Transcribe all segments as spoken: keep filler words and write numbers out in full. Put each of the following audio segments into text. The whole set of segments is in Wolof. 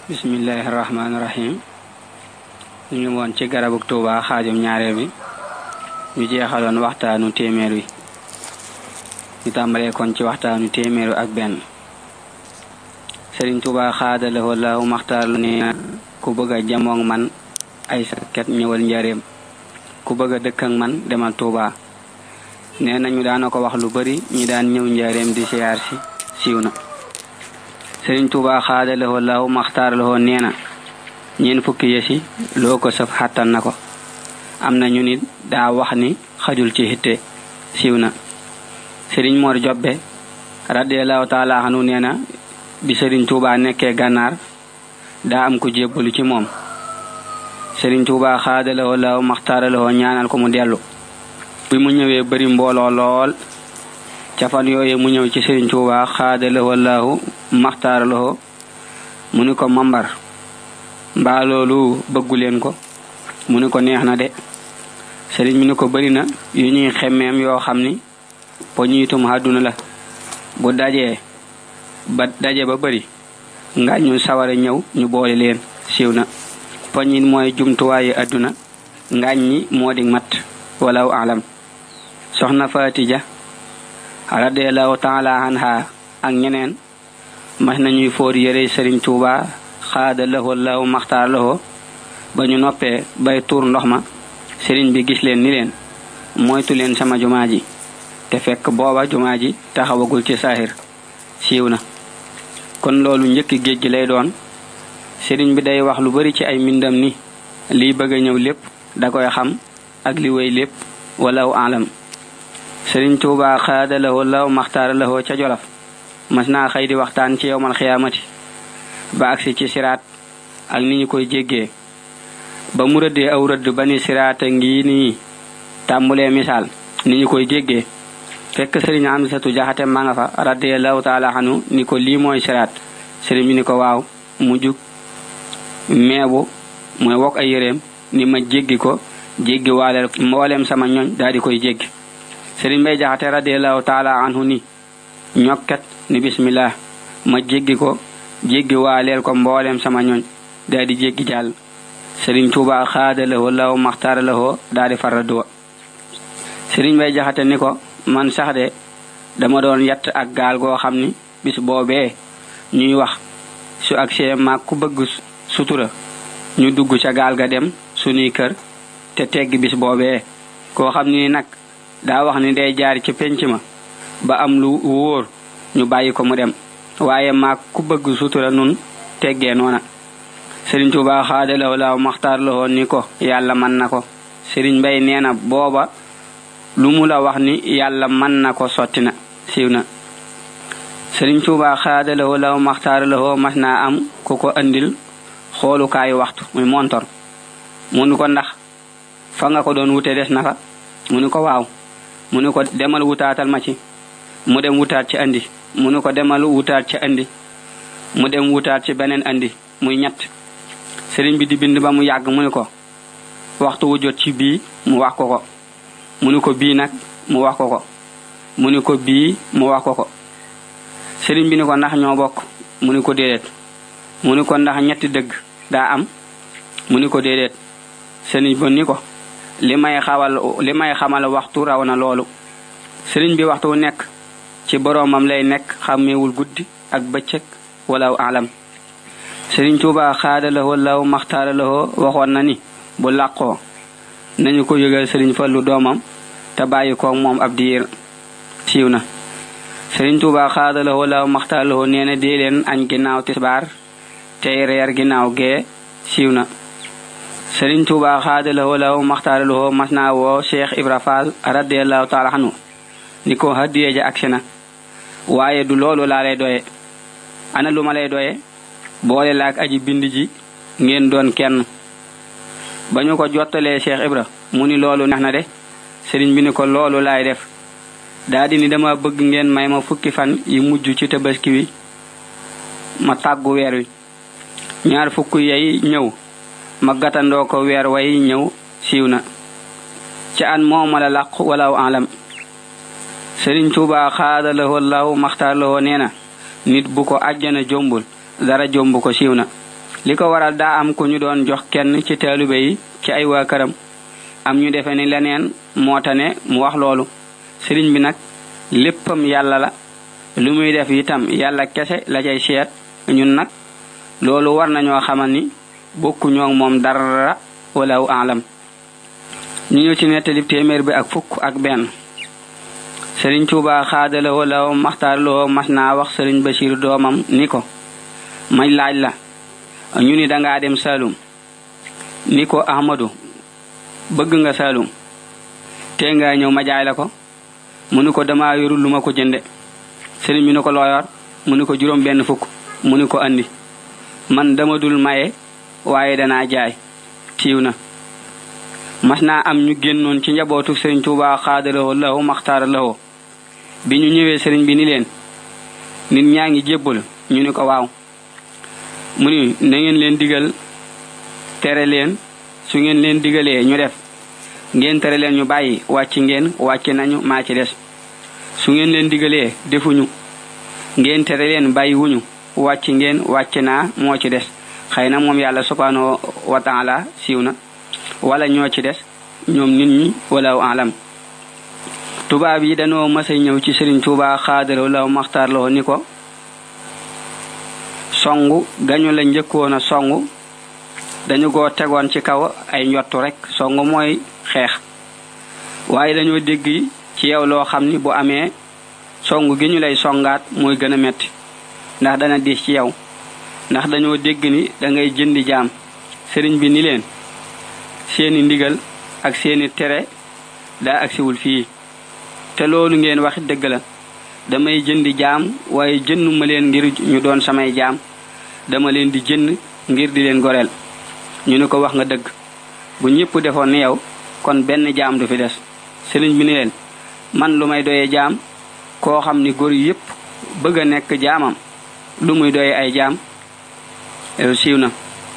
bismillahir rahmanir rahim. ñu won ci garabuk Touba xaajum ñaareel bi ñu jeexaloon waxtaanu téeméer wi ñu tàmbalee kon ci waxtaanu téeméeru ak benn. Serigne Touba xaadalahu Allahu maxtaar lu ne ku bëgg a jamoog man ay sakket ñëwal njaareem ku bëgg a dëkk ak man demal Touba. nee nañu daana ko wax lu bari ñi daan ñëw njaareem di siyaar si siiw na. Serigne Touba xaadalahu Allahu maxtaar lahu nee na ñeen fukki yesi loo ko saf xattan na ko. am na ñu nit daa wax ni xajul ci hitte siiw na. Serigne Mor Jobbe radiyallahu taala anhu nee na bi Serigne Touba nekkee gànnaar daa am ku jébbalu ci moom. Serigne Touba xaadalahu Allahu maxtaar lahu ñaanal ko mu dellu. bi mu ñëwee bari mbooloo lool ca fan yooye mu ñëw ci Serigne Touba xaadalahu Allahu maxtaar lahu mu ni ko mambar mbaa loolu bëggu leen ko. mu ni ko neex na de. Serigne mi ni ko bari na yu ñuy xemmeem yoo xam ni poñiitum àdduna la bu dajee ba daje ba bari nga ñu sawara ñëw ñu boole leen siiw na. poñit mooy jumtuwaayu àdduna ngaañ ñi moo di mat walaw alam. soxna Fatija radiyallahu taala anha ak ñeneen mas nañuy foor yére Serigne Touba xaadalahu Allahu maxtaar lahu ba ñu noppee bay tuur ndox ma Serigne bi gis leen ni leen moytu leen sama jumaa ji te fekk booba jumaa ji taxawagul ci saahir siiw na. kon loolu njëkk géej gi lay doon. Serigne bi day wax lu bari ci ay mbindam ni liy bëgg a ñëw lépp da koy xam ak li wéy lépp walaw alam. Serigne Touba xaadalahu Allahu maxtaar lahu ca Jolof mas naa xëy di waxtaan ci yowmal xiyaamati ba agsi ci siraat ak ni ñu koy jéggee ba mu rëddee aw rëdd ba ni siraata ngi nii tàmbulee misaal ni ñu koy jéggee fekk Serigne Amsatu Jaxate ma nga fa radiyallahu taala anhu ni ko lii mooy siraat. Serigne bi ni ko waaw. mu jug meebu mooy wokk ay yéreem ni ma jéggi ko jéggi waaleel mboolem sama ñoñ daal di koy jéggi. Serigne Mbay Jaxate radiyallahu taala anhu ni ñokkat ni bismillah ma jéggi ko jéggi waaleel ko mboolem sama ñoñ daal di jéggi jàll. Serigne Touba xaadalahu Allahu maxtaar lahu daal di farraduwa. Serigne Mbay Jaxate ni ko man sax de dama doon yatt ak gaal goo xam ni bis boobee ñuy wax su agsee maag ku bëgg sutura ñu dugg ca gaal ga dem suñuy kër te tegg bis boobee koo xam ni nag daa wax ni day jaar ci penc ma ba am lu wóor ñu bàyyi ko mu dem waaye maag ku bëgg sutura nun teggee noona. Serigne Touba xaadalahu Allahu maxtaar lahu ni ko yàlla mën na ko. Serigne Mbay nee na booba lu mu la wax ni yàlla mën na ko sotti na siiw na. Serigne Touba xaadalahu Allahu maxtaar lahu mas naa am ku ko andil xoolukaayu waxtu muy montor. mu ni ko ndax fa nga ko doon wute des na fa. mu ni ko waaw. mu ni ko demal wutaatal ma ci. mu dem wutaat ci andi. mu ni ko demal wutaat ci andi. mu dem wutaat ci beneen andi muy ñett. Serigne bi di bind ba mu yàgg mu ni ko waxtu wu jot ci bii mu wax ko ko. mu ni ko bii nag mu wax ko ko. mu ni ko bii mu wax ko ko. Serigne bi ni ko ndax ñoo bokk. mu ni ko déedéet. mu ni ko ndax ñetti dëgg daa am. mu ni ko déedéet. Serigne bi ni ko li may xawal li may xamal waxtu raw na loolu. Serigne bi waxtu wu nekk ci boroomam lay nekk xàmmeewul guddi ak bëccëg walaw alam. Serigne Touba xaadalahu Allahu maxtaar lahu waxoon na ni bu làqoo nañu ko yëgal Serigne Fallu doomam te bàyyi ko moom ab diir siiw na. Serigne Touba xaadalahu Allahu maxtaar lahu nee na dee leen añ ginnaaw tisbaar tey reer ginnaaw gee siiw na. Serigne Touba xaadalahu Allahu maxtaar lahu mas naa woo Cheikh Ibra Fall radiyallahu taala anhu ni ko hadiye ja agsi na waaye du loolu laa lay doye. ana lu ma lay doye boole laak aji bind ji ngeen doon kenn. ba ñu ko jottalee Cheikh Ibra mu ni loolu neex na de. Serigne bi ni ko loolu laay def. daa di ni dama bëgg ngeen may ma fukki fan yi mujj ci tabaski wi ma tàggu weer wi. ñaar fukk yay ñëw ma gatandoo ko weer way ñëw siiw na. ca an mooma la làq walaw alam. Serigne Touba xaadalahu Allahu maxtaar lahu nee na nit bu ko àjjana jombul dara jomb ko siiw na. liko waral da am ku ñu doon jox kenn ci talibé yi ci ay waa këram am ñu defé ni leneen moo tane mu wax loolu sëriñ bi nag léppam yàlla la lu muy def itam yàlla kese la cay seet ñun nag loolu war nañoo xamal ni bokku ñoo moom dara wala aalam ñu ñu ci nettali téeméer bi ak fukk ak benn sëriñ Tuuba xaadala wala maxtaar loo mas naa wax sëriñ Bachir doomam ni ko may laaj la ñu ni dangaa dem Saalum ni ko Ahmadu bëgg nga Saalum te nga ñëw ma jaay la ko mu ni ko dama yorul lu ma ko jënde sëriñ bi ni ko loo yor mu ni ko juróom benn fukk mu ni ko andi man dama dul maye waaye danaa jaay tiiw na mas naa am ñu génnoon ci njabootu sëriñ Tuuba xaadalawoo lawo maxtaara lawoo bi ñu ñëwee sëriñ bi ni leen nit ñaa ngi jébbal ñu ni ko waaw mu ni na ngeen leen digal tere leen su ngeen leen digalee ñu def ngeen tere leen ñu bàyyi wàcc ngeen wàcc nañu maa ci des su ngeen leen digalee defuñu ngeen tere leen bàyyi wuñu wàcc ngeen wàcc naa moo ci des xëy na moom yàlla subhanahu wa taala siiw na wala ñoo ci des ñoom nit ñi wala alam tubaab yi dañoo mësa ñëw ci Sëriñ Tuuba xaadalaw law maxtaar loo ni ko songu gañu la njëkkoon a songu dañu ko tegoon ci kaw ay njottu rek songu mooy xeex waaye dañoo dégg ci yow loo xam ni bu amee songu gi ñu lay songaat mooy gën a metti ndax dana diis ci yow ndax dañoo dégg ni da ngay jëndi jaam sëriñ bi ni leen seeni ndigal ak seeni tere daa agsiwul fii te loolu ngeen wax dëgg la damay jëndi jaam waaye jënduma leen ngir ñu doon samay jaam dama leen di jënd ngir di leen goreel ñu ni ko wax nga dëgg bu ñëpp defoon ni yow kon benn jaam du fi des sëriñ bi ni leen man lu may doyee jaam koo xam ni góor yépp bëgg a nekk jaamam lu muy doyee ay jaam siiw na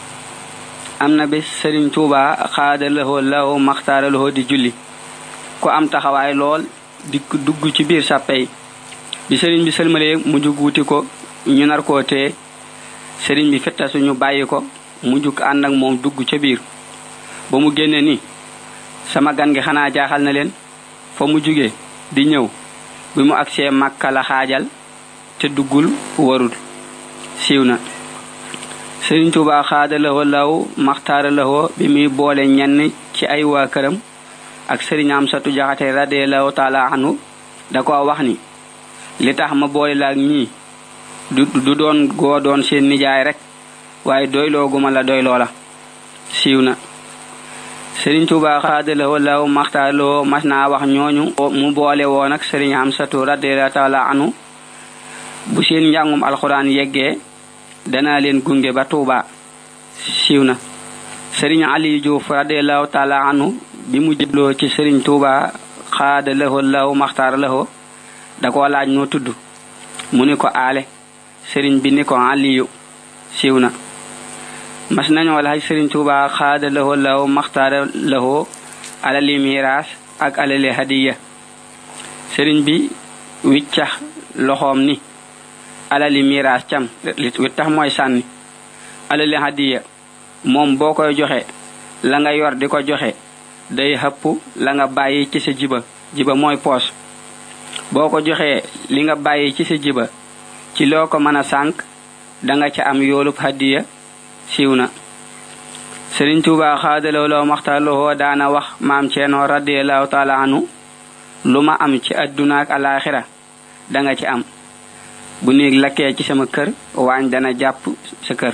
am na bis Sëriñ Tuuba xaadalawoo law maxtaaralawoo di julli ku am taxawaay lool di dugg ci biir sàppey bi sëriñ bi sëlmalee mu jug wuti ko ñu nar koo tee sëriñ bi fettasu ñu bàyyi ko mu jug ànd ak moom dugg ca biir ba mu génne ni sama gan gi xanaa jaaxal na leen fa mu jugee di ñëw bi mu agsee Makka la xaajal te duggul warul siiw na Sëriñ Tuuba xaadalawoo law maxtaaralawoo bi muy boole ñenn ci ay waa këram ak Sëriñ Amsatu Jaxate radiyallahu taala anhu da ko wax ni li tax ma boole la ak ñii du du doon goo doon seen nijaay rek waaye doyloo guma la doyloo la siiw na Sëriñ Tuuba xaadalawoo law maxtaaralawoo mas naa wax ñooñu mu boole woon ak Sëriñ Amsatu radiyallahu taala anhu bu seen njàngum alxuraan yeggee dana leen gunge ba Tuuba siiw na Sëriñ Ali Juuf radiyallahu taala anhu bi mu jëbloo ci Sëriñ Tuuba xaadalawoo law maxtaaralawoo da ko laaj noo tudd mu ni ko aale sëriñ bi ni ko Aliyu siiw na mas nañoo laaj Sëriñ Tuuba xaadalawoo law maxtaaralawoo alali miraas ak alali hadiya sëriñ bi wiccax loxoom ni alali miraas cam li tax mooy sànni alali hadiya moom boo koy joxe la nga yor di ko joxe day xëpp la nga bàyyi ci sa jiba jiba mooy poos boo ko joxee li nga bàyyi ci sa jiba ci loo ko mën a sànk danga ca am yoolub hadiya siiw na Sëriñ Tuuba xaadalawoo law maxtaaralawoo daana wax maam Ceerno radiyallahu taala anhu lu ma am ci adduna ak alaaxira danga ci am bu néeg lakkee ci sama kër waañ dana jàpp sa kër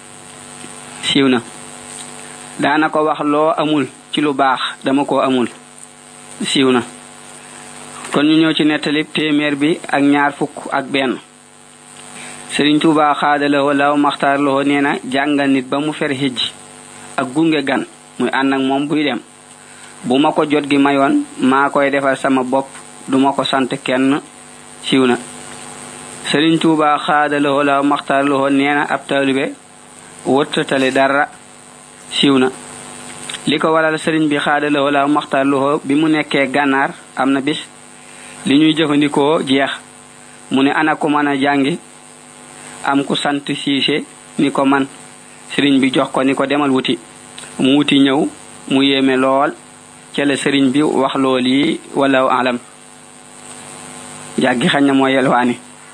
siiw na daana ko wax loo amul ci lu baax dama ko amul siiw na kon ñu ñëw ci nettali téeméer bi ak ñaar fukk ak benn Sëriñ Tuuba xaadalawoo law maxtaaralawoo nee na jàngal nit ba mu fer hijj ak gunge gan muy ànd ak moom buy dem bu ma ko jot gi mayoon maa koy defal sama bopp duma ko sant kenn siiw na Sëriñ Tuuba xaadalawoo law maxtaaralawoo nee na ab taalibe wërtatale dara siiw na li ko waral sëriñ bi xaadalawoo law maxtaaralawoo bi mu nekkee gànnaar am na bis li ñuy jëfandikoo jeex mu ne ana ko mën a jàngi am ku sant siise ni ko man sëriñ bi jox ko ni ko demal wuti mu wuti ñëw mu yéeme lool ca la sëriñ bi wax lool yi wala alam jàggi xañ na mooy yelwaani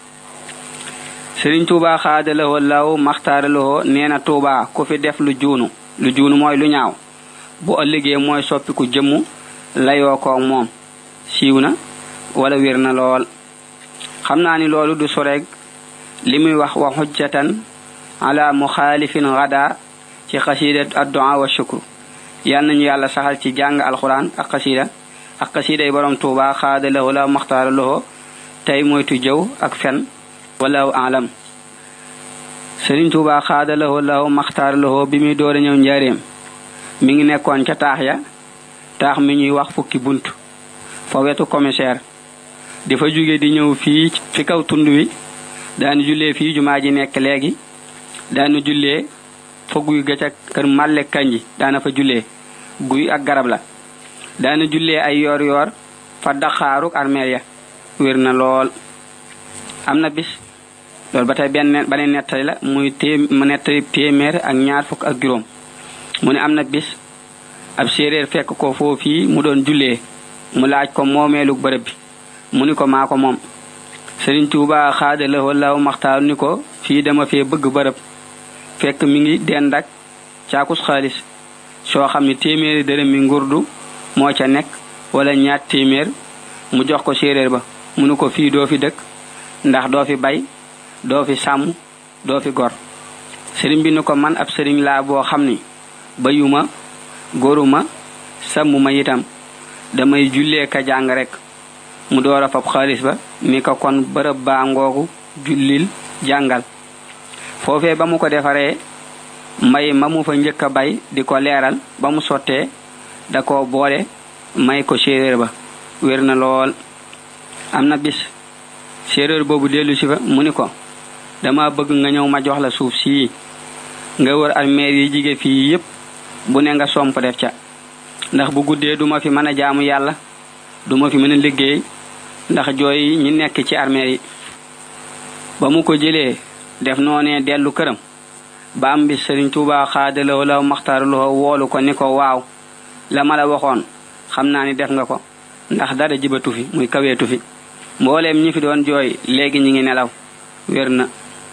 sëriñ Tuubaa xaadalawoo law maxtaaralawoo nee na Tuubaa ku fi def lu juunu lu juunu mooy lu ñaaw bu ëllëgee mooy soppiku jëmm layoo ko moom siiw na wala wér na lool xam naa ni loolu du soreeg li muy wax wa xujjatan ala muxaalifin gada ci xasiida addu'a wa shukru yal nañu yàlla saxal ci jàng alquran ak xasiida ak xasiida yi borom Tuubaa xaadalawoo law maxtaaralawoo tey moytu jëw ak fen wala alam sëriñ Tuubaa xaadalawoo law maxtaaralawoo bi muy door a ñëw njaareem mi ngi nekkoon ca taax ya taax mi ñuy wax fukki bunt fa wetu commissaire di fa jóge di ñëw fii fi kaw tund wi daanu jullee fii jumaa ji nekk léegi daanu jullee fa guy ga ca kër Màlle Kanji daana fa jullee guy ak garab la daanu jullee ay yoor yoor fa daxaaruk armeel ya wér na lool am na bis loolu ba tey benn beneen nettali la muy té mu nettali téeméer ak ñaar fukk ak juróom mu ne am na bis ab séeréer fekk ko foofii mu doon jullee mu laaj ko moomeelu bërëb bi mu ni ko maa ko moom Sëriñ Tuubaa xaadalawoo law maxtaar ni ko fii dama fee bëgg bërëb fekk mi ngi dend ak caakus xaalis soo xam ne téeméeri dërëm mi ngurdu moo ca nekk wala ñaar téeméer mu jox ko séeréer ba mu ni ko fii doo fi dëkk ndax doo fi bay doo fi sàmm doo fi gor sëriñ bi ni ko man ab sëriñ laa boo xam ni bayuma góoruma sàmmuma itam damay jullee ka jàng rek mu door a fab xaalis ba ni ko kon bërëb baa ngoogu jullil jàngal foofee ba mu ko defaree may ma mu fa njëkk a bay di ko leeral ba mu sottee da ko boole may ko séeréer ba wér na lool am na bis séeréer boobu dellu si fa mu ni ko dama bëgg nga ñëw ma jox la suuf sii nga wër armeer yi jige fii yépp bu ne nga somp def ca ndax bu guddee duma fi mën a jaamu yàlla duma fi mën a liggéey ndax jooy ñi nekk ci armeer yi ba mu ko jëlee def noonee dellu këram ba am bis Sëriñ Tuubaa xaadalawoo law maxtaaralawoo woolu ko ni ko waaw la ma la waxoon xam naa ni def nga ko ndax dara jibatu fi muy kaweetu fi mbooleem ñi fi doon jooy léegi ñi ngi nelaw wér na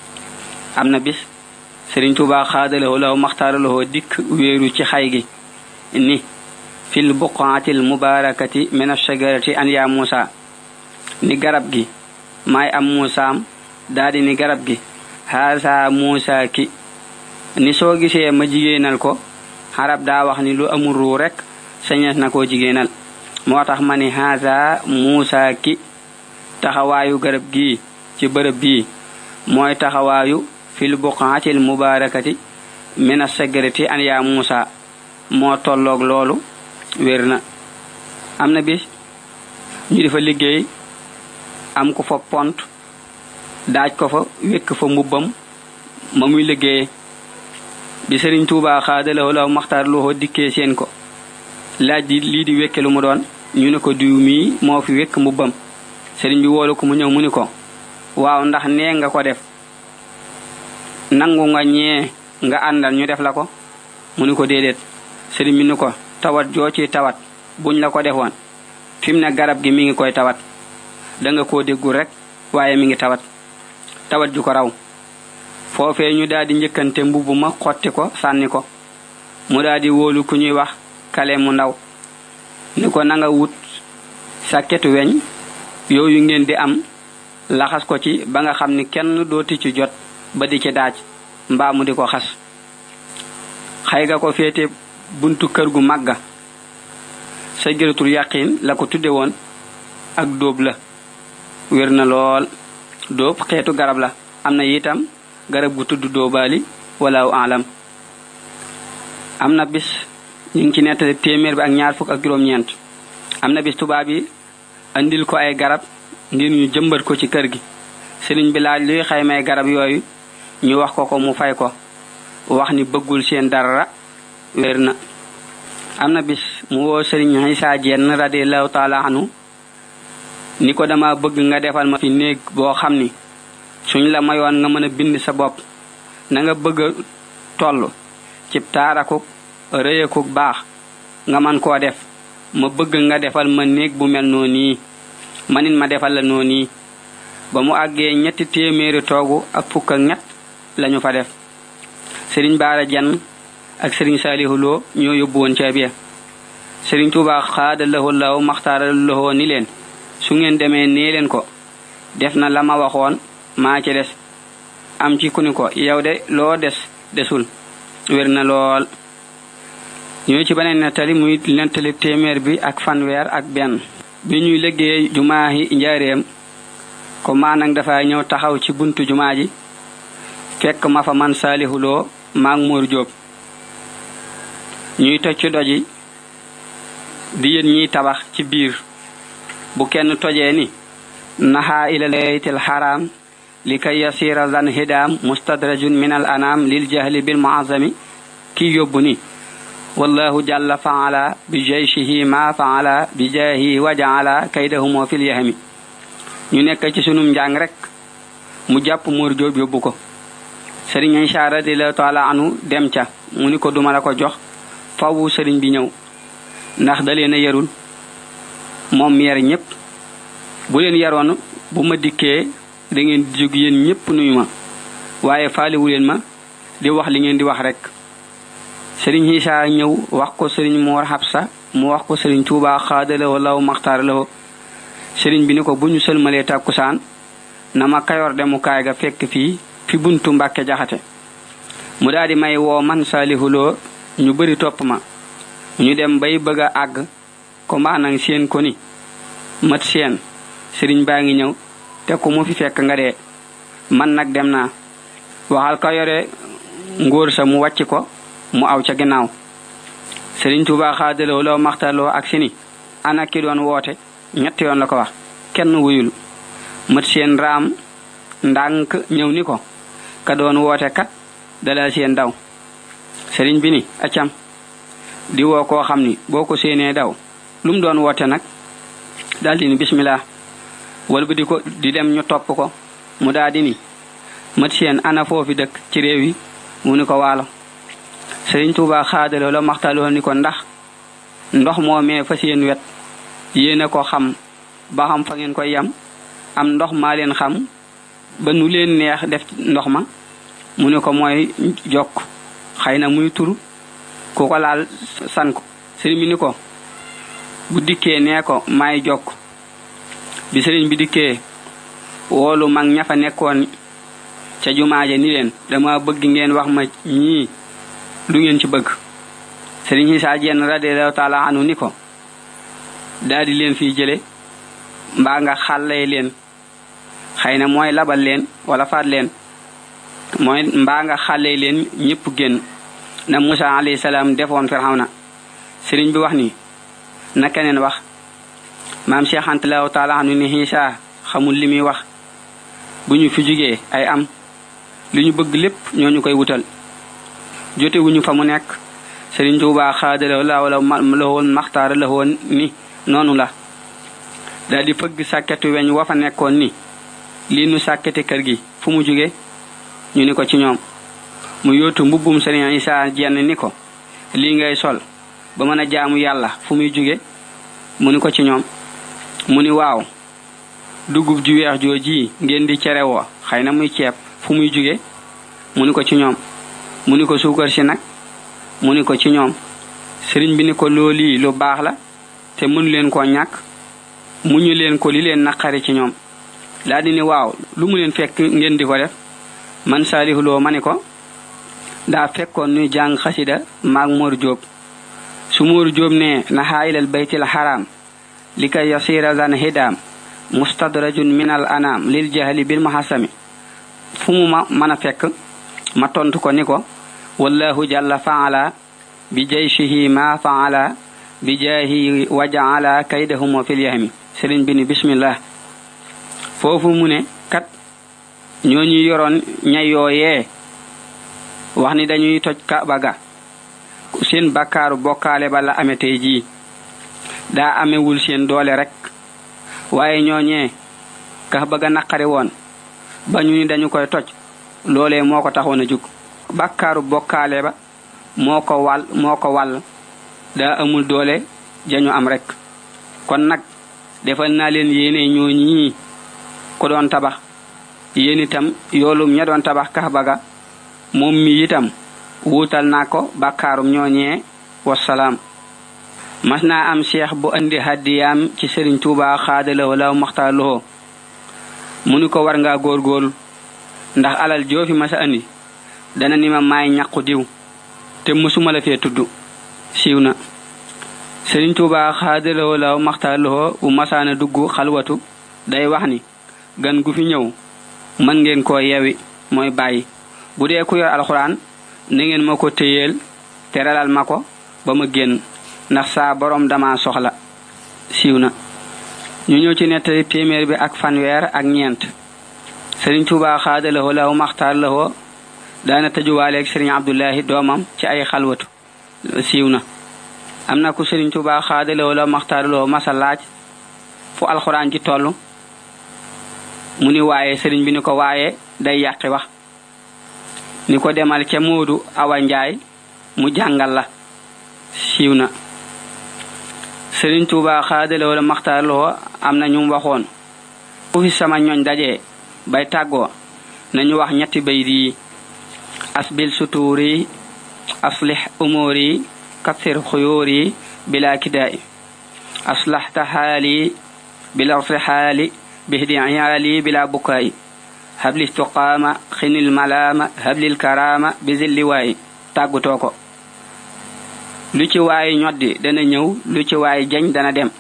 am na bis Sëriñ Tuubaa xaadalawoo law maxtaaralawoo dikk wéeru ci xay gi ni fil buqaatil mubaarakati min ash-shajarati an yaa Muusa ni garab gi maay am Muusaam daldi ni garab gi haasa Muusa ki ni soo gisee ma jigéenal ko xarab daa wax ni lu amul ruu rek sañees na koo jigéenal moo tax ma ni haasa Muusa ki taxawaayu garab gi ci bërëb bii mooy taxawaayu fil buqaatil mubaarakati min ash-shajarati an yaa Muusa moo tolloog loolu wér na am na bis ñu di fa liggéey am ko fa pont daaj ko fa wékk fa mbubbam ma muy liggéeye bi Sëriñ Tuubaa xaadalawoo law maxtaaralawoo dikkee seen ko laaj di lii di wékke lu mu doon ñu ne ko diw mii moo fi wékk mbubbam sëriñ bi woolu ko mu ñëw mu ni ko waaw ndax nee nga ko def nangu nga ñee nga àndal ñu def la ko mu ni ko déedéet sëriñ bi ni ko tawat joo ci tawat buñ la ko defoon fi mu ne garab gi mi ngi koy tawat danga koo déggul rek waaye mi ngi tawat tawat ju ko raw foofee ñu daldi njëkkante mbubb ma xotti ko sànni ko mu daldi wóolu ku ñuy wax kale mu ndaw ni ko nanga wut sàkketu weñ yooyu ngeen di am laxas ko ci ba nga xam ni kenn dooti ci jot ba di ci daaj mbaa mu di ko xas xay ga ko féete buntu kër gu màgga sajaratul yaqin la ko tudde woon ak dóob la wér na lool dóob xeetu garab la am na itam garab gu tudd dóobaali walaaw alam am na bis ñu ngi ci nettali téeméer bi ak ñaar fukk ak juróom-ñeent am na bis tubaab yi andil ko ay garab ngir ñu jëmbat ko ci kër gi sëriñ bi laaj luy xaymay garab yooyu ñu wax ko ko mu fay ko wax ni bëggul seen dara wér na am na bis mu woo sëriñ Isaa Jeen radiyallahu taala anhu ni ko dama bëgg nga defal ma fi néeg boo xam ni suñ la mayoon nga mën a bind sa bopp na nga bëgg a tollu ci taaraku reyeku baax nga man ko def ma bëgg nga defal ma neeg bu mel noni manin ma defal la noni ba mu àggee ñetti téeméeri toogu ak fukk ak ñett lañu fa def Serigne Bara Dieng ak Serigne Salihu Lo ñoo yóbbu woon ca biya Serigne Touba xaada lahu law maxtaara lahu ni leen su ngeen demee nee leen ko def na la ma waxoon maa ci des am ci ku ni ko yow de loo des desul wér na lool ñoo ci beneen nettali muy nettali téeméer bi ak fanweer ak benn bi ñuy liggéey jumaa yi njaareem ko maanang dafa ñëw taxaw ci buntu jumaa ji fekk ma fa man Salihu Lo maag Mor Jóob ñuy toj ci doji di yéen ñiy tabax ci biir bu kenn tojee ni naha ila laytil haram likay yasira zan hidam mustadrajun min al anam lil jahli bil mu'azzami ki yóbbu ni wallahu jalla fa'ala bi jayshihi ma fa'ala bi jahi wa ja'ala kaydahum fil yahmi ñu nekk ci sunum njàng rek mu jàpp Mor Jóob yóbbu ko Serigne Aïcha radiyallahu ta'ala anu dem ca mu ni ko duma la ko jox fawu Serigne bi ñëw ndax da leen a yarul moom yar ñépp bu leen yaroon bu ma dikkee da ngeen di jóg yéen ñépp nuyu ma waaye faaliwu leen ma di wax li ngeen di wax rek Serigne Aïcha ñëw wax ko Serigne Mor Habsa mu wax ko Serigne Touba xaadala wala maxtaar la Serigne bi ni ko bu ñu sëlmalee tàkkusaan na ma Kayor demukaay ga fekk fii fi buntu Mbàkke Jaxate mu daal di may woo man Salihu Lo ñu bari topp ma ñu dem bay bëgg a àgg ko maanang seen ko ni mat seen Serigne baa ngi ñëw te ku mu fi fekk nga dee man nag dem naa waxal ka yore ngóor sa mu wàcc ko mu aw ca ginnaaw Serigne Touba xaadaloo loo maxtaloo ak sini ana ki doon woote ñetti yoon la ko wax kenn wuyul mat seen raam ndànk ñëw ni ko ka doon woote kat dala seen daw Serigne bi ni acam di woo koo xam ni boo ko séenee daw lu mu doon woote nag daldi ni bismillah wal bu di ko di dem ñu topp ko mu daldi ni mat seen ana foofi dëkk ci réew yi mu ni ko waalo Serigne Touba xaadaloo la maxtaloo ni ko ndax ndox moomee fa seen wet yéena ko xam ba xam fa ngeen koy yam am ndox maa leen xam ba nu leen neex def ndox ma mu ni ko mooy jokk xëy na muy turu ku ko laal san ko Serigne bi ni ko bu dikkee nee ko maay jokk bi Serigne bi dikkee woolu mag ña fa nekkoon ca jumaaje ni leen dama bëgg ngeen wax ma ñii lu ngeen ci bëgg Serigne Issa Diène radiyallahu ta'ala anu ni ko daldi leen fi jële mbaa nga xàllee leen xëy na mooy labal leen wala faat leen mooy mbaa nga xàllee leen ñépp génn na Musa alayhi salaam defoon Firawna Serigne bi wax ni na keneen wax maam Cheikh Anta Ta'ala anu ni Issa xamul li muy wax bu ñu fi jugee ay am li ñu bëgg lépp ñooñu koy wutal jote wuñu fa mu nekk Serigne Touba xaadala la wala lawoon maxtaara la woon ni noonu la daal di fëgg sàkketu weñ wa fa nekkoon ni lii nu sàkkete kër gi fu mu jóge ñu ni ko ci ñoom mu yóotu mbubbum Serigne Issa Diène ni ko lii ngay sol ba mën a jaamu yàlla fu muy jóge mu ni ko ci ñoom mu ni waaw dugub ju weex jooji ngeen di cere woo xëy na muy ceeb fu muy jóge mu ni ko ci ñoom mu ni ko suukar si nag mu ni ko ci ñoom Serigne bi ni ko loolii lu baax la te mënu leen koo ñàkk mu ñu leen ko li leen naqari ci ñoom daa di ni waaw lu mu leen fekk ngeen di ko def man Salihu Lo ma ni ko daa fekkoon nuy jàng xasida maag Mor Jóob su Mor Jóob ne nahaa ilal baytil haram li kay yasira zan hidam mustadrajun minal anam lil jahli bil muhassami fu mu ma mën a fekk ma tontu ko ni ko wallahu jalla fa'ala bi jayshihi ma fa'ala bi jahi wa ja'ala kaydahum fil yahmi Serigne bi ni bismillah foofu mu ne kat ñooñu yoroon ñay yooyee wax ni dañuy toj Kaaba ga seen bakkaaru bokkaale ba la amee tey jii daa amewul seen doole rek waaye ñooñee Kaaba ga naqari woon ba ñu ni dañu koy toj loolee moo ko taxoon a jug bàkkaaru bokkaale ba moo ko wàll moo ko wàll daa amul doole jañu am rek kon nag defal naa leen yéene ñoo ñii ko doon tabax yéen itam yoolum ña doon tabax Kaaba ga moom mi itam wuutal naa ko bàkkaarum ñooñee wasalaam. mas naa am cheikh bu andi hadiyaam ci Sëriñ Tuubaa xaadalawoo law maxtaalowoo mu ni ko war ngaa góorgóorlu ndax alal joofi masa andi dana ni ma maay ñaqu diw te mësuma la fee tudd siiw na. Sëriñ Tuubaa xaadalawoo law maxtaalowoo bu masaana dugg xalwatu day wax ni gan gu fi ñëw mën ngeen koo yewi mooy bàyyi bu dee ku yor alxuraan na ngeen ma ko téyeel teralal ma ko ba ma génn ndax saa borom dama soxla siiw na. ñu ñëw ci nettali téeméer bi ak fanweer ak ñeent. Sëriñ Tuubaa xaadalawoo law maxtaalowoo daana tëjuwaaleeg Sëriñ Abdullahi doomam ci ay xalwatu siiw na. am na ku Sëriñ Tuubaa xaadalawoo law maxtaalowoo masa laaj fu alxuraan ji tollu mu ni waaye sëriñ bi ni ko waaye day yàqi wax ni ko demal ca Moodu Awa Njaay mu jàngal la siiw na. Sëriñ Tuubaa xaadalawoo la maxtaarloo am na ñu waxoon fu fi sama ñooñ dajee bay tàggoo nañu wax ñetti bayt yi asbil sutuuri aslih umuuri kathir xuyuuri bila kidaay aslahta xaali bila irtixaali bihdi iyaali bila bukaay habli istiqaama xinil malaama hablil karaama bizilli waay tàggutoo ko lu ci waay ñoddi dana ñëw lu ci waay jañ dana dem.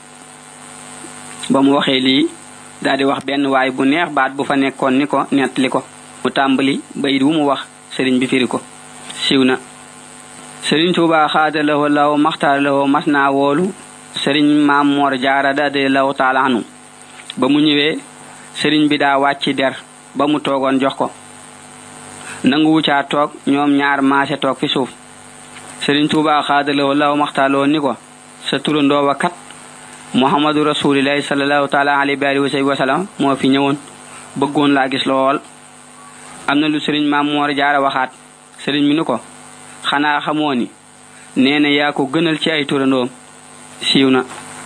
ba mu waxee lii daldi wax benn waay bu neex baat bu fa nekkoon ni ko nettali ko mu tàmbali bayit wu mu wax sëriñ bi firi ko siiw na. Sëriñ Tuubaa xaadalawoo law maxtaarlawoo mas naa woolu sëriñ Maam Moor Jaara radiyallaahu taala anhu ba mu ñëwee sëriñ bi daa wàcci der ba mu toogoon jox ko nangu wucaa toog ñoom ñaar maase toog fi suuf. Sëriñ Tuubaa xaadalawoo law maxtaarlawoo ni ko sa turandoo wa kat Muhammadu rasulillahi sallallahu taala alayhi wa sallam moo fi ñëwoon bëggoon laa gis lool. am na lu sëriñ Maam Moor Jaara waxaat sëriñ mi ni ko xanaa xamoo ni nee na yaa ko gënal ci ay turandoom siiw na.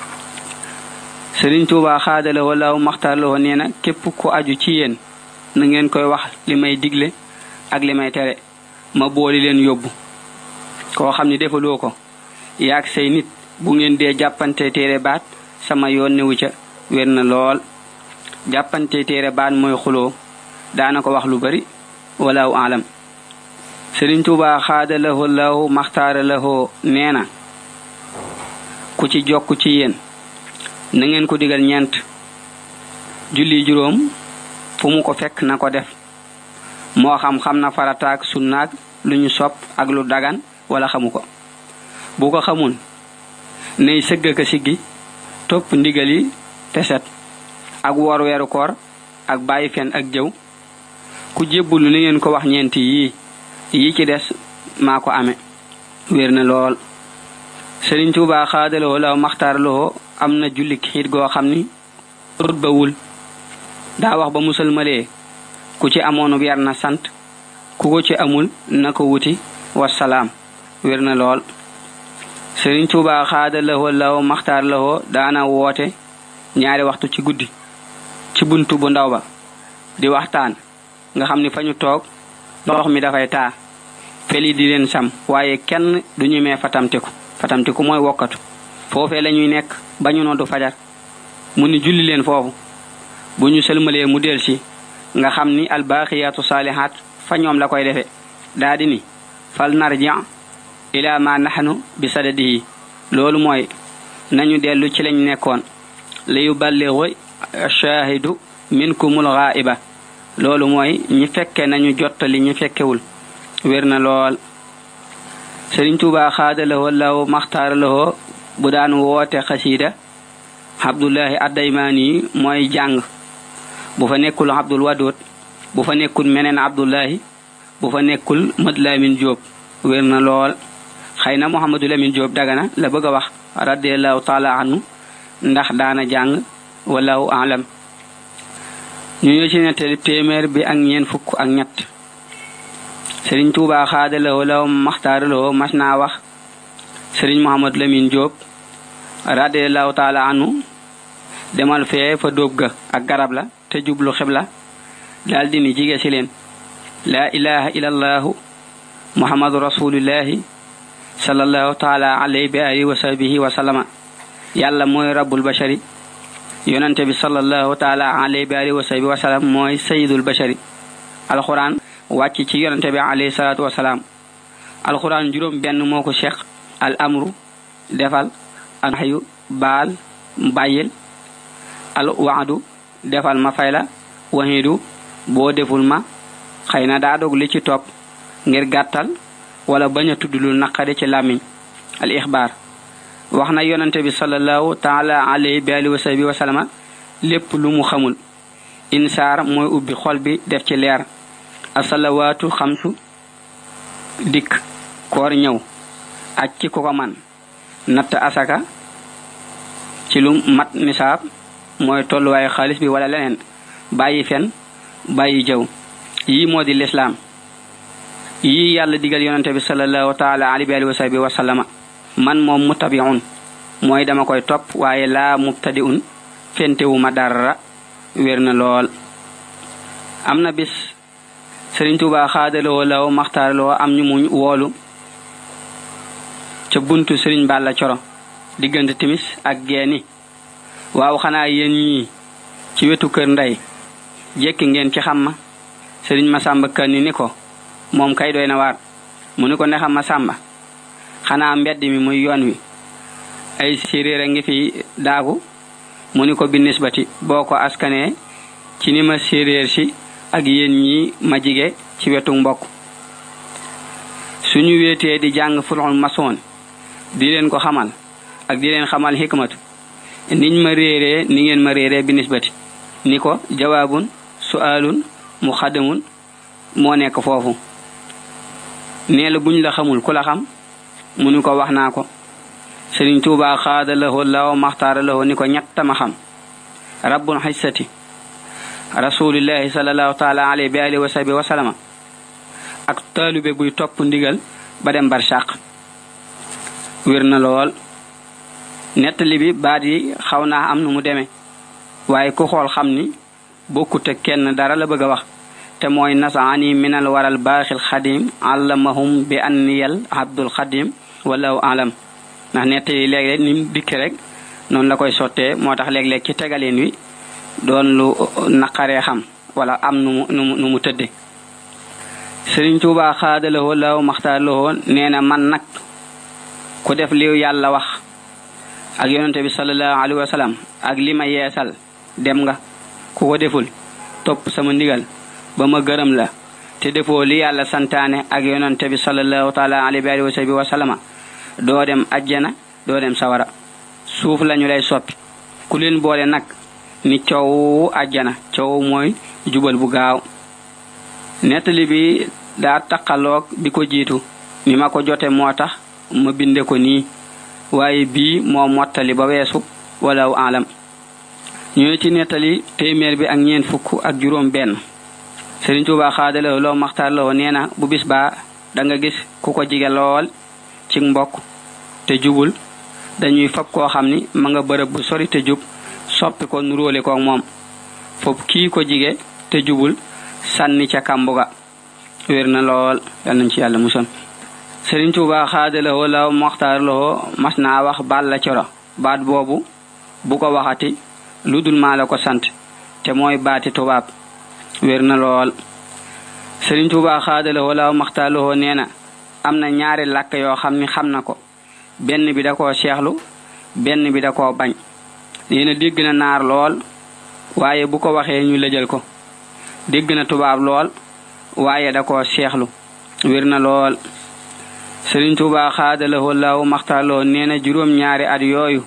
Sëriñ Tuubaa xaadalawoo law maxtaarlawoo nee na képp ku aju ci yéen na ngeen koy wax li may digle ak li may tere ma booli leen yóbbu. koo xam ni defaloo ko yaag say nit bu ngeen dee jàppante téere baat sama yoon newu ca wér na lool. jàppante téere baat mooy xuloo daana ko wax lu bari walaahu alam. Sëriñ Tuubaa xaadalawoo law maxtaarlawoo nee na ku ci jokk ci yéen na ngeen ko digal ñeent julli juróom fu mu ko fekk na ko def moo xam xam na farataak sunnaak lu ñu sopp ak lu dagan wala xamu ko. bu ko xamul nay sëgg ka siggi topp ndigal yi te set ak woor weeru koor ak bàyyi fen ak jëw. ku jébbulu ni ngeen ko wax ñeenti yii yi ci des maa ko ame wér na lool. Sëriñ Tuubaa xaadalawoo law maxtaarlawoo am na julli xiit goo xam ni rutbawul daa wax ba musalmalee ku ci amoon weer na sant ku ko ci amul na ko wuti wasalaam wér na lool. Sëriñ Tuubaa xaadalawoo law maxtaarlawoo daana woote ñaari waxtu ci guddi ci buntu bu ndaw ba di waxtaan nga xam ni fa ñu toog ndox mi dafay taa feli di leen sam waaye kenn du ñu mee fatamtiku fatamtiku mooy wokkatu foofee la ñuy nekk ba ñu noddu fajar mu ni julli leen foofu bu ñu sëlmalee mu del si nga xam ni albaaqiyaatu saalihaat fa ñoom la koy defe daa di ni fal narji ila ma nahnu bi sadadihi loolu mooy nañu dellu ci lañ nekkoon li yuballighu shaahidu minkumul ghaiba loolu mooy ñi fekke nañu jottali ñi fekkewul wér na lool. Sëriñ Tuubaa xaadalawoo law maxtaarlawoo bu daan woote xasiida Abdullahi Addaymaani mooy jàng bu fa nekkul Abdul Wadud bu fa nekkul meneen Abdullahi bu fa nekkul Mad Lamin Jóob wér na lool. xëy na Muhammadu Lamin Jóob Dagana la bëgg a wax radiyallahu taala anhu ndax daana jàng wallahu alam. ñu ñëw ci nettali téeméer bi ak ñeen fukk ak ñett. Serigne Touba xaadaloo law maxtaaraloo mas naa wax Serigne Mouhamad Lamine Diop radiyallahu taala anhu demal fee fa dóob ga ak garab la te jublu xibla daldi ni jige ci leen la ilaha illallahu muhammadu rasulullahi sallallahu taala alayhi bi alihi wa sahbihi wa sallama yàlla mooy rabbul bashari yonante bi sallallahu taala alayhi bi alihi wa sahbihi wa sallam mooy sayyidul bashari alquran wàcc ci yonante bi alayhi salatu wa salam alquran juróom benn moo ko cheikh al amru defal al nahyu baal bàyyil al waadu defal ma fayla wahidu boo deful ma xëy na daa dog li ci topp ngir gàttal wala bañ a tudd lu naqari ci làmmiñ al ixbaar wax na yonante bi sallallahu taala alayhi bi alihi wa sahbihi wa sallama lépp lu mu xamul insaar mooy ubbi xol bi def ci leer asalawaatu xamsu dikk koor ñëw aj ci ko ko man natt asaka ci lu mat nisaab mooy tolluwaayu xaalis bi wala leneen bàyyi fen bàyyi jëw yii moo di lislaam yii yàlla digal yonante bi sallallahu taala alayhi wa sahbihi wa sallama man moom mutabi'un mooy dama koy topp waaye laa mubtadi'un fentewu ma dara wér na lool am na bis Serigne Touba xaadaloo law maxtaaraloo am ñu muñ woolu ca buntu Serigne Balla Coro diggante timis ak geeni waaw xanaa yéen ñii ci wetu kër ndey jekki ngeen ci xam ma Serigne Masamba Kanni ni ko moom kay doy na waar mu ni ko ne xam ma sàmba xanaa mbedd mi muy yoon wi ay séeréer a ngi fi daagu mu ni ko binisbati boo ko askanee ci ni ma séeréer si ak yéen ñi ma jige ci wetu mbokk suñu wéetee di jàng fulxul masoon di leen ko xamal ak di leen xamal hikmatu niñ ma réeree ni ngeen ma réeree binisbati ni ko jawaabun su'aalun muxaddamun moo nekk foofu nee la buñ la xamul ku la xam mu ni ko wax naa ko Serigne Touba xaadalahoo law maxtaaralahoo ni ko ñett ma xam rabbul xissati rasulillahi sallallahu taala alayhi bi alihi wa sahbihi wa sallama ak taalube buy topp ndigal ba dem barsàq wér na lool nettali bi baat yi xaw naa am nu mu demee waaye ku xool xam ni bokkute kenn dara la bëgg a wax te mooy nasaani minal waral baaxil xadim allamahum bi anniyal abdul xadim wallahu alam ndax nettali léeg-léeg ni mu dikki rek noonu la koy sottee moo tax léeg-léeg ci tegaleen wi doon lu naqaree xam wala am nu mu nu mu tëdde Serigne Touba xaadalahoo law maxtaaralahoo nee na man nag ku def li yàlla wax ak yonante bi sallallahu alayhi wa sallam ak li ma yeesal dem nga ku ko deful topp sama ndigal ba ma gërëm la te defoo li yàlla santaane ak yonante bi sallallahu taala alayhi wa sahbihi wa sallama doo dem ajjana doo dem sawara suuf lañu lay soppi ku leen boole nag ni coow ajjana coow mooy jubal bu gaaw nettali bi daa taqaloog bi ko jiitu ni ma ko jote moo tax ma binde ko nii waaye bii moo mottali ba weesu walaw alam ñu ci nettali téeméer bi ak ñeen fukk ak juróom benn Serigne Touba xaadaloo loo maxtaar loo nee na bu bis baa da nga gis ku ko jige lool ci mbokk te jubul dañuy fab koo xam ni ma nga bërëb bu sori te jub soppi ko nuróole ko moom fop kii ko jige te jubul sànni ca kambuga wér na lool yal nañ ci yàlla muson Serigne Touba xaadaloo law maxtaar loo mas naa wax Balla Coro baat boobu bu ko waxati lu dul maa la ko sant te mooy baati tubaab wér na lool Serigne Touba xaadaloo law maxtaar loo nee na am na ñaari làkk yoo xam ni xam na ko benn bi da koo seexlu benn bi da koo bañ nee na dégg na naar lool waaye bu ko waxee ñu lëjal ko dégg na tubaab lool waaye da koo seexlu wér na lool Serigne Touba xaadaloo law maxtaar loo nee na juróom ñaari at yooyu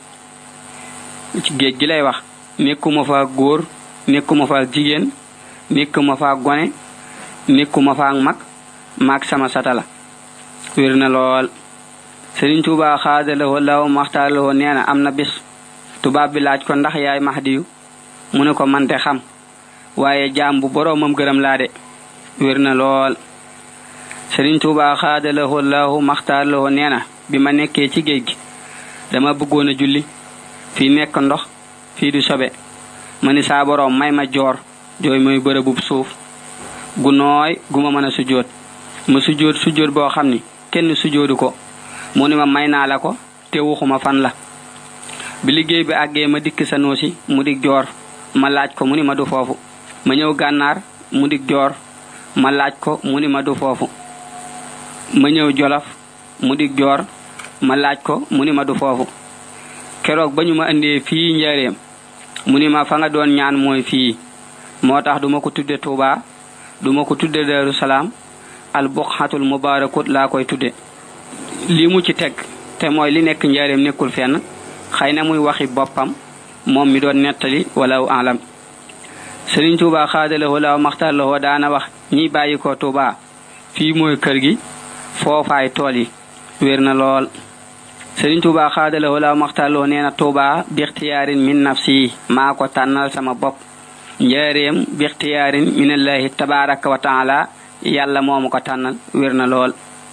ci géej gi lay wax nekkuma fa góor nekkuma fa jigéen nekkuma fa gone nekkuma fa mag maag sama satala wér na lool Serigne Touba xaadaloo law maxtaar loo nee na am na bis tubaab bi laaj ko ndax yaay Mahdiyu mu ne ko mante xam waaye jaam bu boroomam gërëm laa de wér na lool Serigne Touba xaadalahu Allahu maxtaar lahu nee na bi ma nekkee ci géej gi dama bëggoon a julli fii nekk ndox fii du sobe ma ni saa boroom may ma joor jooy mooy bërëbub suuf gu nooy gu ma mën a sujjóot ma sujjóot sujjóot boo xam ni kenn sujjóodu ko mu ni ma may naa la ko te waxuma fan la bi liggéey bi àggee ma dikk Sanusi mu dig joor ma laaj ko mu ni ma du foofu ma ñëw gànnaar mu dig joor ma laaj ko mu ni ma du foofu ma ñëw Jolof mu dig joor ma laaj ko mu ni ma du foofu keroog ba ñu ma indee fii Njaaréem mu ni ma fa nga doon ñaan mooy fii moo tax duma ko tudde Tuuba duma ko tudde Daaru Salaam al buqatul mubarakut laa koy tudde lii mu ci teg te mooy li nekk Njaaréem nekkul fenn xëy na muy waxi boppam moom mi doon nettali walaw alam Sëriñ Tuuba xaadalahu law maxtar lahu daana wax ñi bàyyi ko Tuuba fii mooy kër gi foofaay tool yi wér na lool Sëriñ Tuuba xaadalahu law maxtar lahu nee na Tuuba bixtiyaarin min nafsi maa ko tànnal sama bopp Njaaréem bixtiyaarin minallahi tabaraka wa taala yàlla moomu ko tànnal wér na lool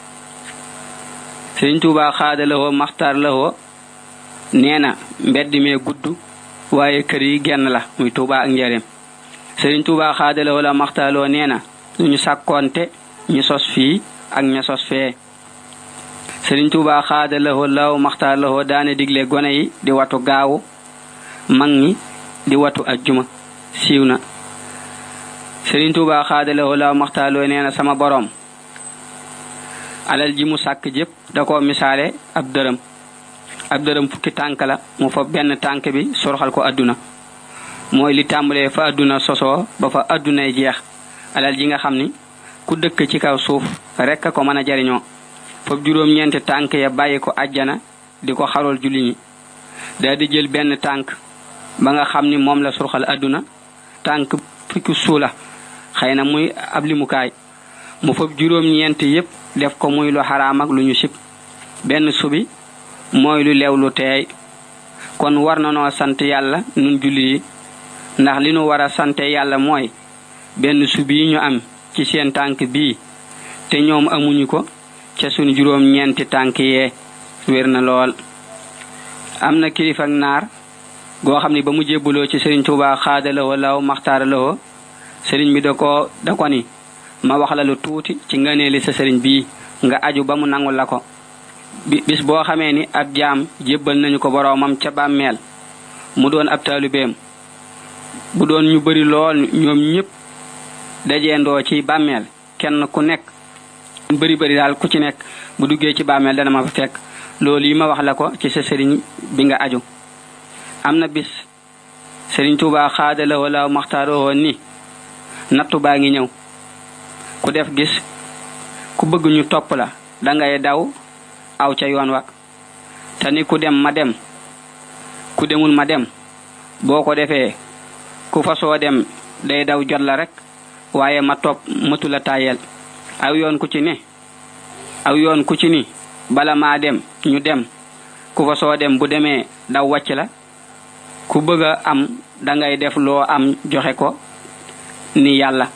Sëriñ Tuuba xaadalahu maxtar lahu nee na mbedd mee gudd waaye kër yi genn la muy Tuuba ak Njaaréem Sëriñ Tuuba xaadalahu law maxtar lahu nee na ñu sàkkoonte ñu sos fii ak ña sos fee Sëriñ Tuuba xaadalahu law maxtar lahu daane digle gone yi di watu gaawu mag ñi di watu ajjuma siiw na Sëriñ Tuuba xaadalahu law maxtar lahu nee na sama boroom alal ji mu sàkk jëpp da ko misaale ab dërëm ab dërëm fukki tànk la mu fa benn tànk bi sorxal ko adduna mooy li tàmbalee fa adduna sosoo ba fa addunay jeex alal ji nga xam ni ku dëkk ci kaw suuf rekk ko mën a jariñoo foofu juróom-ñeenti tànk ya bàyyi ko ajjana di ko xarool julli ñi daa di jël benn tànk ba nga xam ni moom la surxal adduna tànk fukki suula xëy na muy ab limukaay mu foofu juróom-ñeenti yépp def ko muy lu xaraam ak lu ñu sib benn subi mooy lu leew lu teey kon war na noo sant yàlla nun julli yi ndax li nu war a sante yàlla mooy benn subi yi ñu am ci seen tànk bii te ñoom amuñu ko ca sunu juróom ñeenti tànk yee wér na lool am na kilifa ak naar goo xam ni ba mu jébbuloo ci Sëriñ Tuuba xaadalahu law maxtaar lahu sëriñ bi da ko da ko ni ma wax la lu tuuti ci ngëneeli sa sëriñ bii nga aju ba mu nangul la ko bis boo xamee ni ab jaam jébbal nañu ko boroomam ca bàmmeel mu doon ab taalibeem bu doon ñu bari lool ñoom ñépp dajeendoo ci bàmmeel kenn ku nekk bari bari daal ku ci nekk bu duggee ci bàmmeel dana ma fa fekk loolu yi ma wax la ko ci sa sëriñ bi nga aju am na bis Sëriñ Tuuba xaadalahu law maxtaaroo ni nattu baa ngi ñëw ku def gis ku bëgg ñu topp la dangay daw aw ca yoon wa te ni ku dem ma dem ku demul ma dem boo ko defee ku fa soo dem day daw jot la rek waaye ma topp mëtu la tayel aw yoon ku ci ne aw yoon ku ci ni bala maa dem ñu dem ku fa soo dem bu demee daw wàcc la ku bëgg a am dangay def loo am joxe ko ni yàlla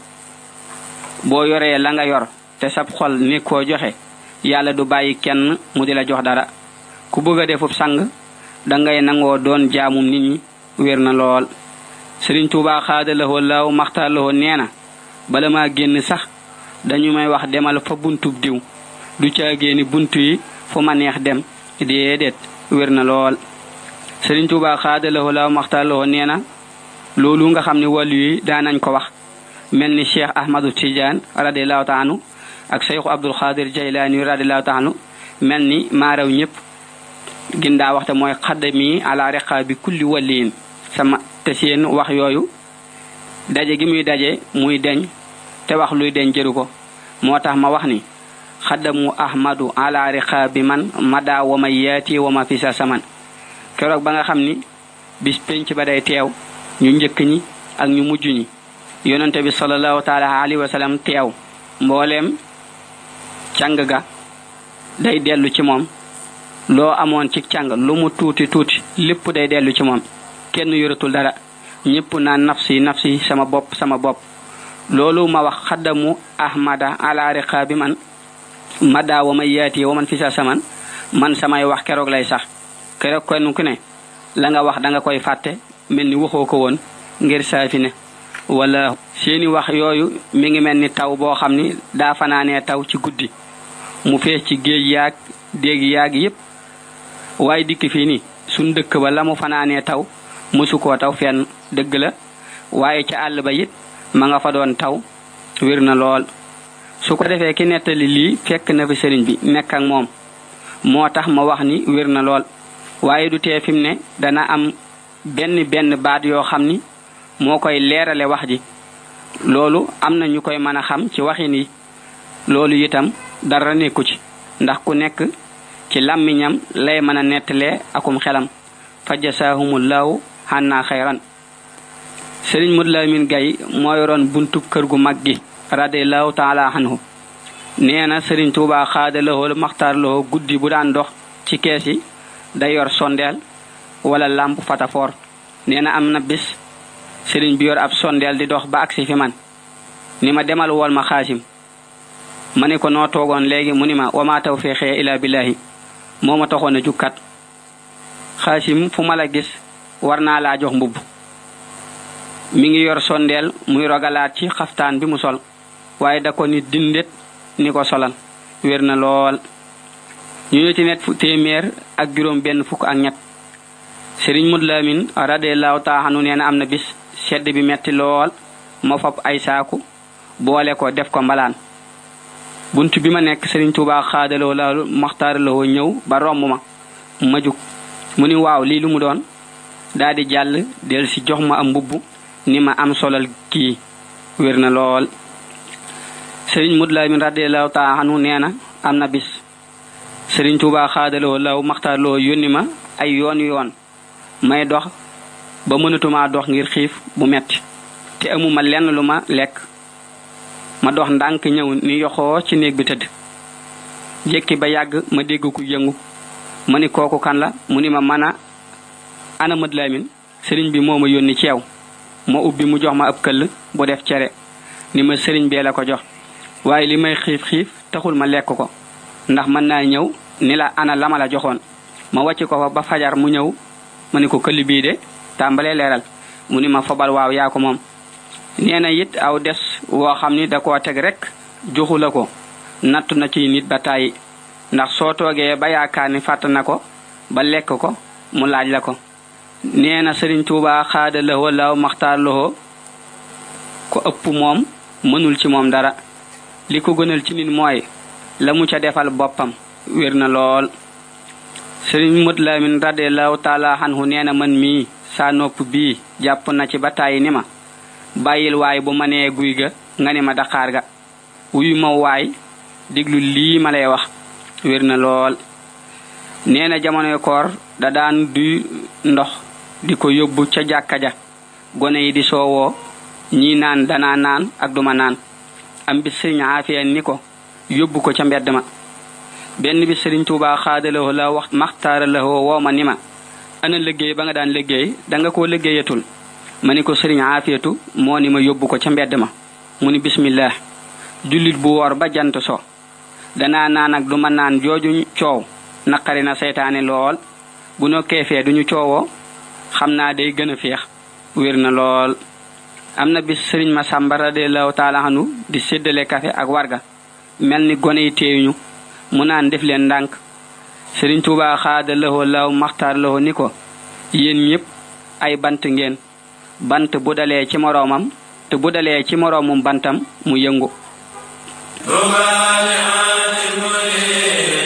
boo yoree la nga yor te sab xol ni koo joxe yàlla du bàyyi kenn mu di la jox dara ku bëgg a defub sang dangay nangoo doon jaamum nit ñi wér na lool Sëriñ Tuuba xaadalahu law maxtaar lahu nee na bala maa génn sax dañu may wax demal fa buntub diw du caagee ni buntu yi fu ma neex dem déedéet wér na lool Sëriñ Tuuba xaadalahu law maxtaar lahu nee na loolu nga xam ne wàllu yi daanañ ko wax mel ni Cheikh Ahmadu Tidiane radiallahu taala anhu ak Cheikh Abdul Xaadir Jaylaani radiallahu taala anhu mel ni maaraw ñëpp gindaa waxte mooy xaddami ala riqaabi kulli waliin sama te seen wax yooyu daje gi muy daje muy deñ te wax luy deñ jëru ko moo tax ma wax ni xaddamu ahmadu ala riqaabi man mada wa ma yaati wa ma fisa saman keroog ba nga xam ni bis penc ba day teew ñu njëkk ñi ak ñu mujj ñi yonente bi sallallahu taala alayhi wa sallam teew mbooleem càng ga day dellu ci moom loo amoon ci càng lu mu tuuti tuuti lépp day dellu ci moom kenn yoratul dara ñépp naan nafsi nafsi sama bopp sama bopp loolu ma wax xaddamu ahmada ala riqaabi man mada wa may yaati wa man fi sa saman man samay wax keroog lay sax keroog kenn ku ne la nga wax da nga koy fàtte mel ni waxoo ko woon ngir saafi ne wala seeni wax yooyu mi ngi mel ni taw boo xam ni daa fanaanee taw ci guddi mu fees ci géej yaag déeg yaag yépp waaye dikk fii ni suñ dëkk ba la mu fanaanee taw musu koo taw fenn dëgg la waaye ca àll ba it ma nga fa doon taw wér na lool su ko defee ki nettali lii fekk na fi sëriñ bi nekk ak moom moo tax ma wax ni wér na lool waaye du tee fi mu ne dana am benn benn baat yoo xam ni moo koy leerale wax ji loolu am na ñu koy mën a xam ci waxin yi loolu itam dara nekku ci ndax ku nekk ci làmmiñam lay mën a nettalee akum xelam fajasaahumullahu xannaa xayran sëriñ Modou Lamine Gaye moo yoroon buntu kër gu mag gi radiyallahu taala anhu nee na sëriñ Tuubaa xaada lahoo maxtaar lahoo guddi bu daan dox ci kees yi day yor sondeel wala lamp fatafoor nee na am na bis sëriñ bi yor ab sondeel di dox ba agsi fi man ni ma demal wol ma xaasim ma ne ko noo toogoon léegi mu ni ma wama tawfiqi ila billahi moo ma taxoon a jukkat xaasim fu ma la gis war naa laa jox mbubb mi ngi yor sondeel muy rogalaat ci xaftaan bi mu sol waaye da ko ni dindet ni ko solal wér na lool ñu ñëw ci net fu téeméer ak juróom benn fukk ak ñett sëriñ Modou Lamine radiyallahu ta'ala anhu nee na am na bis sedd bi metti lool ma fab ay saaku boole ko def ko mbalaan buntu bi ma nekk sëriñ Tuubaa xaadaloo laalu maxtaaraloo ñëw ba romb ma ma jug mu ni waaw lii lu mu doon daal di jàll del si jox ma am mbubb ni ma am solal kii wér na lool sëriñ Modou Lamine radiyallahu ta'ala anhu nee na am na bis sëriñ Tuubaa xaadaloo laaw maxtaaraloo yónni ma ay yoon yoon may dox ba mënatuma dox ngir xiif bu metti te amuma lenn lu ma lekk ma dox ndànk ñëw ni yoxoo ci néeg bi tëdd jekki ba yàgg ma dégg ku yëngu ma ni kooku kan la mu ni ma mana ana Modou Lamine sëriñ bi moo ma yónni ci yow ma ubbi mu jox ma ab këll bu def cere ni ma sëriñ bee la ko jox waaye li may xiif xiif taxul ma lekk ko ndax mën naa ñëw ni la ana lama la joxoon ma wàcc ko fa ba fajar mu ñëw ma ni ko këll bii de tàmbalee leeral mu ni ma fobal waaw yaa ko moom nee na it aw des woo xam ni da koo teg rek joxu la ko nattu na ci nit ba tàyyi ndax soo toogee ba yaakaar ni fàtt na ko ba lekk ko mu laaj la ko nee na sëriñ Tuubaa xaada lahoo laaw maxtaar lahoo ko ëpp moom mënul ci moom dara li ko gënal ci nit mooy la mu ca defal boppam wér na lool sëriñ Modou Lamine radiyallahu taala anhu nee na man mii saa nopp bii jàpp na ci ba tàyyi ni ma bàyyil waay bu ma nee guy ga nga ni ma daqaar ga wuyu ma waay diglu lii ma lay wax wér na lool nee na jamonoy koor da daan duy ndox di ko yóbbu ca jàkka ja gone yi di soowoo ñii naan danaa naan ak duma naan am bi sëriñ Aafiya ni ko yóbbu ko ca mbedd ma benn bi sëriñ Tuubaa xaadaloo la wax maxtaara la woo ma ni ma ana liggéey ba nga daan liggéey danga koo liggéeyatul ma ni ko sëriñ Aafiyatu moo ni ma yóbbu ko ca mbedd ma mu ni bismillah jullit bu woor ba jant so danaa naan ak duma naan jooju coow naqari na seytaane lool bu no keefee duñu coowoo xam naa day gën a féex wér na lool am na bis sëriñ Masamba radiyallahu taala anhu di séddale kafe ak warga mel ni gone yi teeyuñu mu naan def leen ndànk sëriñ Tuubaa xaada lahoo law maxtaar lahoo ni ko yéen ñëpp ay bant ngeen bant bu dalee ci moroomam te bu dalee ci moroomum bantam mu yëngu